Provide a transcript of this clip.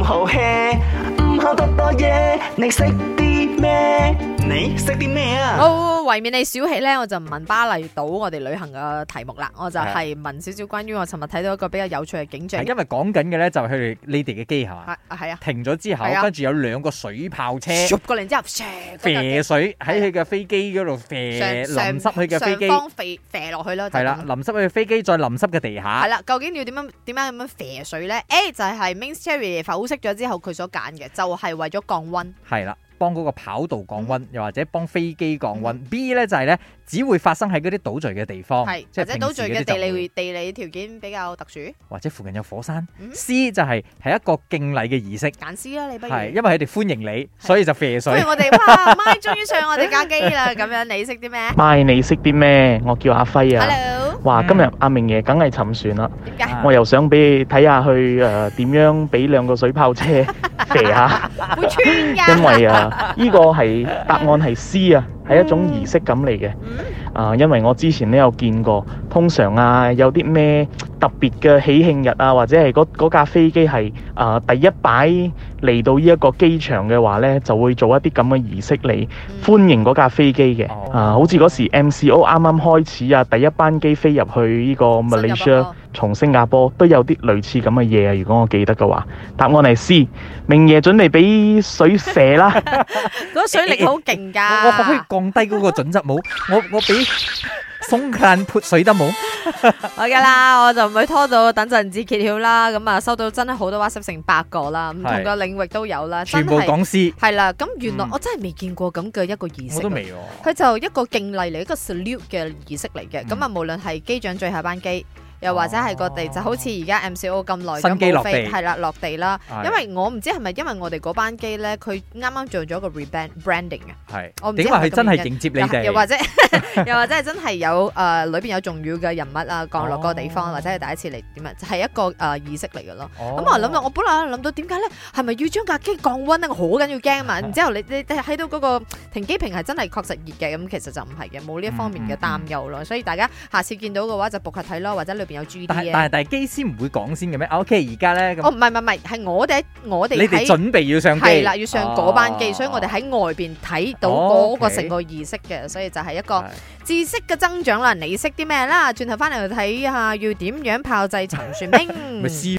唔好 hea， 唔好多多嘢，你識啲咩？你識啲咩啊？ 為免你小氣咧，我就唔問巴厘島我哋旅行嘅題目啦，我就係問少少關於我尋日睇到一個比較有趣嘅景象。 因為講緊嘅咧就係佢哋你哋嘅機係嘛？ 係啊， 停咗之後，跟住有兩個水炮車過嚟之後， 射水喺佢嘅飛機嗰度射，淋濕佢嘅飛機， 上方射落去啦。 係啦，淋濕佢嘅飛機，再淋濕嘅地下。 係啦，究竟要點樣咁樣射水咧？A 就係 Mains Cherry 剖析咗之後佢所揀嘅，就係為咗降溫。 係啦。幫嗰個跑道降溫，又或者幫飛機降溫。B 咧就係咧，只會發生喺嗰啲島嶼嘅地方， 或者島嶼嘅地理條件比較特殊， 或者附近有火山。C 就係一個敬禮嘅儀式。 揀 C 啦，你不如係因為佢哋歡迎你，所以就射水。 不如我哋哇，MY終於上我哋架機啦！咁樣你識啲咩 ？MY你識啲咩？我叫阿輝啊。 Hello。 哇，今日阿明爺梗係沉船啦。 點解？ 我又想俾你睇下去點樣俾兩個水炮車射下。 會穿㗎。 因為呢個係答案係 C 啊，係一種儀式感嚟嘅。因為我之前都有見過，通常有啲咩特別嘅喜慶日或者係嗰架飛機係第一擺嚟到呢一個機場嘅話呢，就會做一啲咁嘅儀式嚟歡迎嗰架飛機嘅。好似嗰時 MCO 啱啱開始第一班機飛入去呢個 Malaysia 從新加坡都有啲類似咁嘅嘢啊！如果我記得嘅話，答案係 C。明爺準備俾水射啦， 嗰水力好勁㗎。 我可以降低嗰個準則冇？我俾鬆間潑水得冇？ 好㗎啦，我就唔會拖到等陣至揭曉啦。咁啊，收到真係好多 WhatsApp 成100個啦，唔同嘅領域都有啦， 全部講師係啦。咁原來我真係未見過咁嘅一個儀式， 我都未喎。 佢就一個敬禮嚟，一個 salute 嘅儀式嚟嘅。咁啊，無論係機長最後班機。又或者係個地就好似而家 MCO 咁耐新機落地係啦落地啦，因為我唔知係咪因為我哋嗰班機咧，佢啱啱做咗個 rebranding 嘅， 係我唔知點話佢真係迎接你哋， 又或者係真係有裏邊有重要嘅人物降落個地方，或者係第一次嚟點啊，就係一個儀式嚟嘅咯。咁我諗到，我本來諗到點解咧，係咪要將架機降溫咧？我好緊要驚啊嘛！然之後你睇到嗰個停機坪係真係確實熱嘅，咁其實就唔係嘅，冇呢一方面嘅擔憂咯。所以大家下次見到嘅話就撲下睇咯，或者裏邊有 GD 嘅。 但係機師唔會講先嘅咩？OK， 而家咧咁。 唔係，係我哋你哋準備要上機。 係啦，要上嗰班機，所以我哋喺外邊睇到嗰個成個儀式嘅，所以就係一個知識嘅增長啦。你識啲咩啦？轉頭翻嚟睇下要點樣炮製沉船兵。